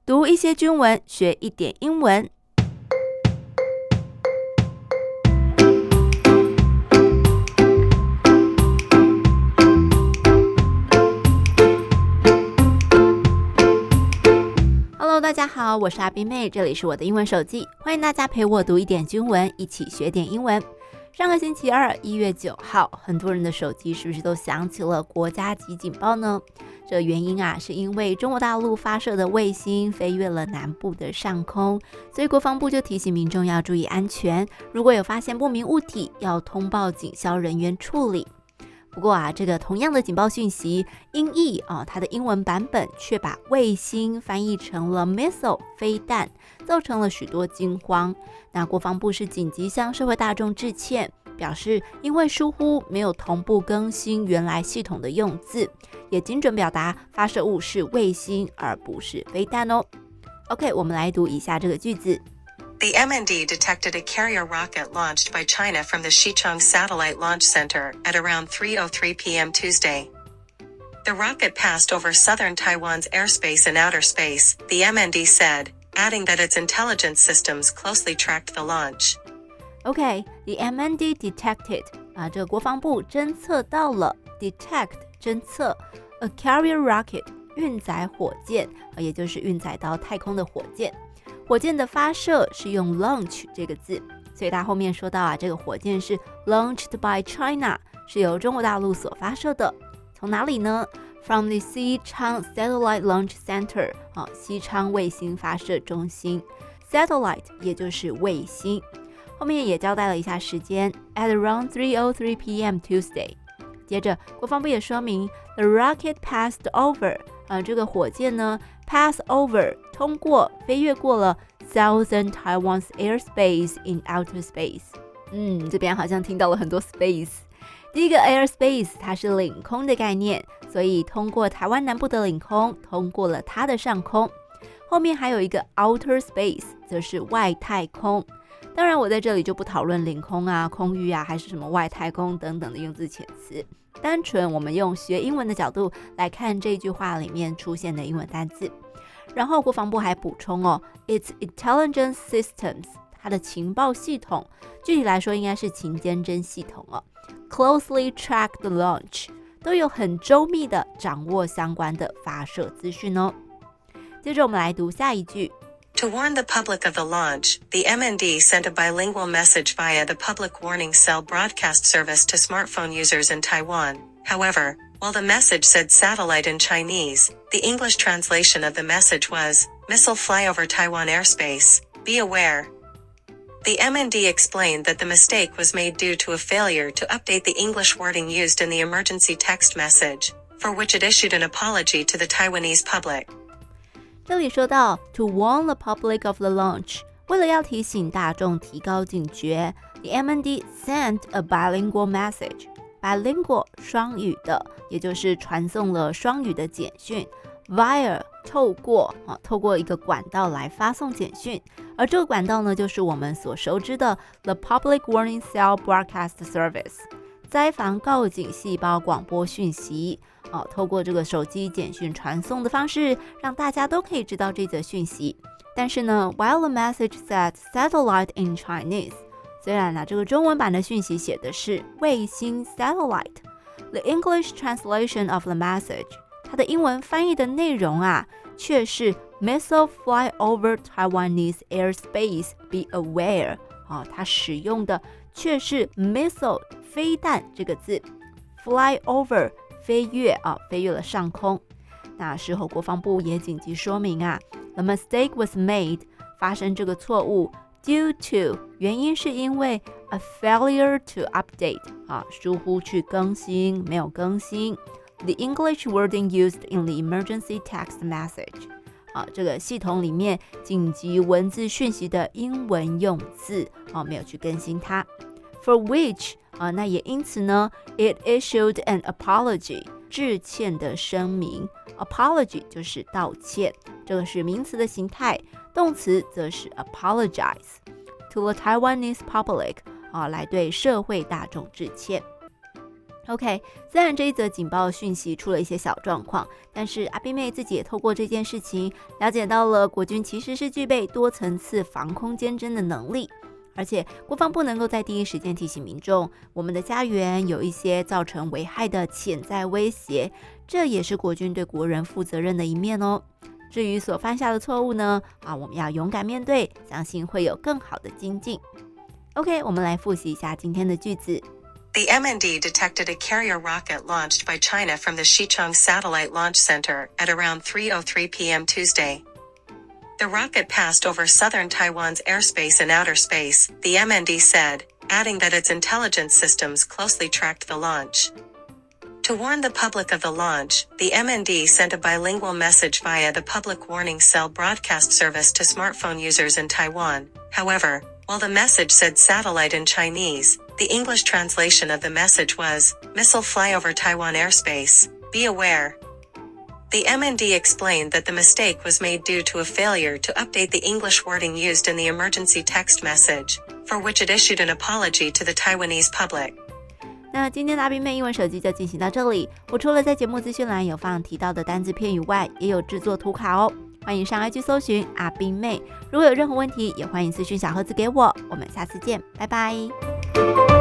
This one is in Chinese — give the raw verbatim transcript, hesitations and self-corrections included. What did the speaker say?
讀一些軍文，學一點英文。Hello， 大家好，我是阿斌妹，這裡是我的英文手記，歡迎大家陪我讀一點軍文，一起學點英文。上個星期二，一月九號，很多人的手機是不是都響起了國家級警報呢？這原因啊，是因為中國大陸發射的衛星飛越了南部的上空，所以國防部就提醒民眾要注意安全，如果有發現不明物體，要通報警消人員處理。不過啊，這個同樣的警報訊息，英譯啊，它的英文版本卻把衛星翻譯成了 missile 飛彈，造成了許多驚慌。那國防部是緊急向社會大眾致歉，表示因為疏忽沒有同步更新原來系統的用字，也精準表達發射物是衛星而不是飛彈哦。OK， 我們來讀以下這個句子。 The M N D detected a carrier rocket launched by China from the Xichang Satellite Launch Center at around three oh three p.m. Tuesday. The rocket passed over southern Taiwan's airspace and outer space, the M N D said, adding that its intelligence systems closely tracked the launch. OK, the M N D detected 啊，這個國防部偵測到了 detect 偵測 a carrier rocket 運載火箭，也就是運載到太空的火箭。火箭的發射是用 launch 這個字，所以它後面說到啊，這個火箭是 launched by China， 是由中國大陸所發射的。從哪裡呢？ From the Xichang Satellite Launch Center， 啊，西昌衛星發射中心。Satellite 也就是衛星。後面也交代了一下時間 ，at around three oh three p.m. Tuesday。接着國防部也說明 ，the rocket passed over， 啊，這個火箭呢 pass over 通過飛越過了 southern Taiwan's airspace in outer space。嗯，這邊好像聽到了很多 space。第一個 airspace 它是領空的概念，所以通過台灣南部的領空，通過了它的上空。後面還有一個 outer space， 則是外太空。當然我在這裡就不討論領空啊、空域啊，還是什麼外太空等等的用字遣詞，單純我們用學英文的角度來看這句話裡面出現的英文單字。然後國防部還補充哦 ，its intelligence systems， 它的情報系統，具體來說應該是情監偵系統哦 ，closely track the launch， 都有很周密的掌握相關的發射資訊哦。接着我們來讀下一句。 To warn the public of the launch, the M N D sent a bilingual message via the Public Warning Cell broadcast service to smartphone users in Taiwan. However, while the message said satellite in Chinese, the English translation of the message was, missile fly over Taiwan airspace, be aware. The M N D explained that the mistake was made due to a failure to update the English wording used in the emergency text message, for which it issued an apology to the Taiwanese public. 這裡說到 to warn the public of the launch， 為了要提醒大眾提高警覺 the M N D sent a bilingual message， bilingual 雙語的，也就是傳送了雙語的簡訊 via 透過、啊、透過一個管道來發送簡訊，而這個管道呢，就是我們所熟知的 the Public Warning Cell broadcast service， 災防告警細胞廣播訊息。哦，透過這個手機簡訊傳送的方式，讓大家都可以知道這則訊息。但是呢 ，while the message said satellite in Chinese， 雖然呢、啊、這個中文版的訊息寫的是衛星 satellite，the English translation of the message， 它的英文翻譯的內容啊，卻是 missile fly over Taiwanese airspace be aware。啊、哦，它使用的卻是 missile 飛彈這個字 ，fly over。飛越啊，飛越了上空。那事後國防部也緊急說明啊 ，the mistake was made， 發生這個錯誤 due to 原因是因為 a failure to update 啊，疏忽去更新，沒有更新 the English wording used in the emergency text message 啊，這個系統裡面緊急文字訊息的英文用字啊，沒有去更新它 ，for which。啊，那也因此呢 ，it issued an apology， 致歉的聲明。apology 就是道歉，這個是名詞的形態，動詞則是 apologize to the Taiwanese public， 啊，來對社會大眾致歉。 OK， 雖然這一則警報訊息出了一些小狀況，但是阿賓妹自己也透過這件事情了解到了國軍其實是具備多層次防空監偵的能力，而且國防部能夠在第一時間提醒民眾，我們的家園有一些造成危害的潛在威脅，這也是國軍對國人負責任的一面哦。至於所犯下的錯誤呢，啊，我們要勇敢面對，相信會有更好的精進。OK， 我們來複習一下今天的句子。 The M N D detected a carrier rocket launched by China from the Xichang Satellite Launch Center at around three oh three p.m. Tuesday. The rocket passed over southern Taiwan's airspace and outer space, the M N D said, adding that its intelligence systems closely tracked the launch. To warn the public of the launch, the M N D sent a bilingual message via the Public Warning Cell broadcast service to smartphone users in Taiwan. However, while the message said satellite in Chinese, the English translation of the message was, "Missile fly over Taiwan airspace. Be aware." The M N D explained that the mistake was made due to a failure to update the English wording used in the emergency text message, for which it issued an apology to the Taiwanese public. 那今天的阿賓妹英文手機就進行到這裡。我除了在節目資訊欄有放提到的單字片語外，也有製作圖卡哦。歡迎上 I G 搜尋阿賓妹，如果有任何問題，也歡迎私訊小盒子給我。我們下次見，拜拜。